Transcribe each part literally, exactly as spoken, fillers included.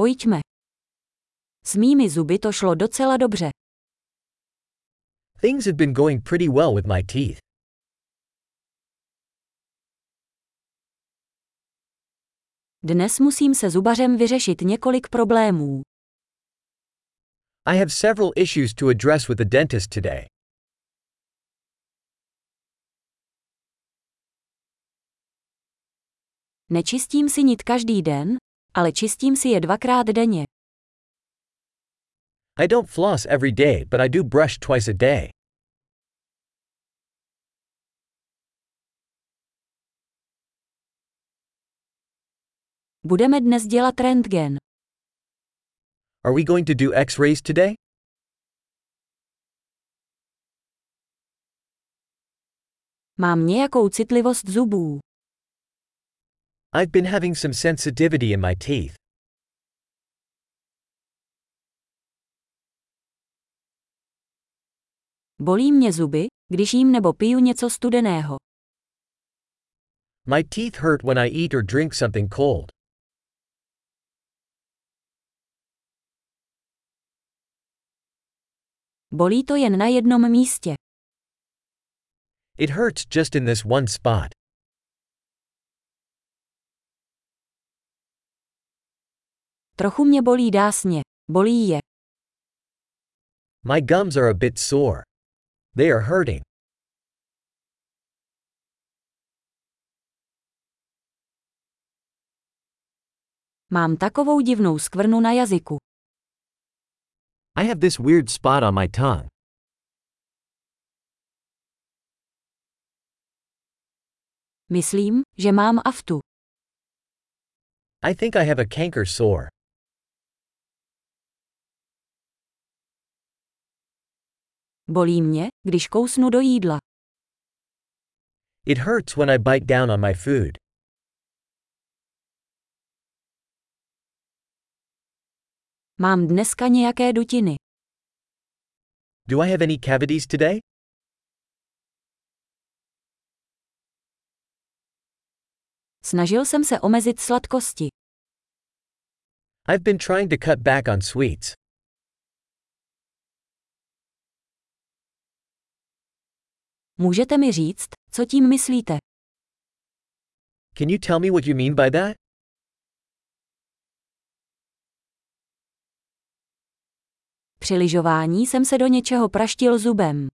Pojďme. S mými zuby to šlo docela dobře. Things have been going pretty well with my teeth. Dnes musím se zubařem vyřešit několik problémů. I have several issues to address with the dentist today. Nečistím si nit každý den, ale čistím si je dvakrát denně. I don't floss every day, but I do brush twice a day. Budeme dnes dělat rentgen. Are we going to do X-rays today? Mám nějakou citlivost zubů. I've been having some sensitivity in my teeth. Bolí mě zuby, když jím nebo piju něco studeného. My teeth hurt when I eat or drink something cold. Bolí to jen na jednom místě. It hurts just in this one spot. Trochu mě bolí dásně. Bolí je. My gums are a bit sore. They are hurting. Mám takovou divnou skvrnu na jazyku. I have this weird spot on my tongue. Myslím, že mám aftu. I think I have a canker sore. Bolí mě, když kousnu do jídla. It hurts when I bite down on my food. Mám dneska nějaké dutiny. Do I have any cavities today? Snažil jsem se omezit sladkosti. I've been trying to cut back on sweets. Můžete mi říct, co tím myslíte? Can you tell me what you mean by that? Při lyžování jsem se do něčeho praštil zubem.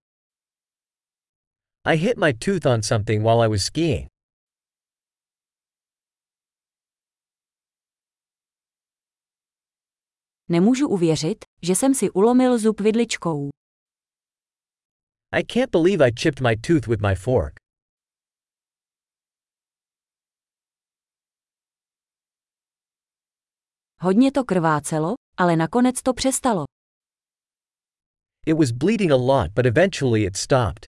I hit my tooth on something while I was skiing. Nemůžu uvěřit, že jsem si ulomil zub vidličkou. I can't believe I chipped my tooth with my fork. Hodně to krvácelo, ale nakonec to přestalo. It was bleeding a lot, but eventually it stopped.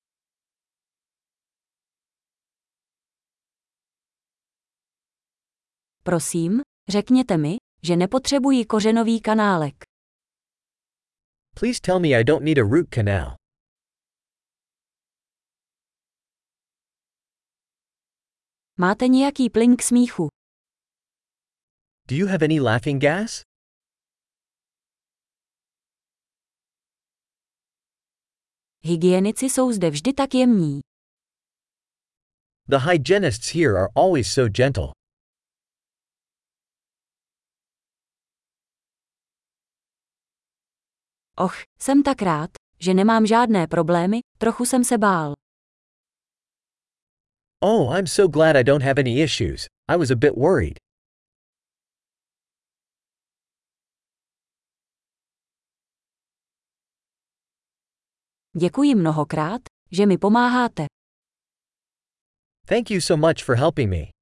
Prosím, řekněte mi, že nepotřebuji kořenový kanálek. Please tell me I don't need a root canal. Máte nějaký plyn k smíchu? Do you have any laughing gas? Hygienici jsou zde vždy tak jemní. The hygienists here are always so gentle. Och, jsem tak rád, že nemám žádné problémy, trochu jsem se bál. Oh, I'm so glad I don't have any issues. I was a bit worried. Děkuji mnohokrát, že mi pomáháte. Thank you so much for helping me.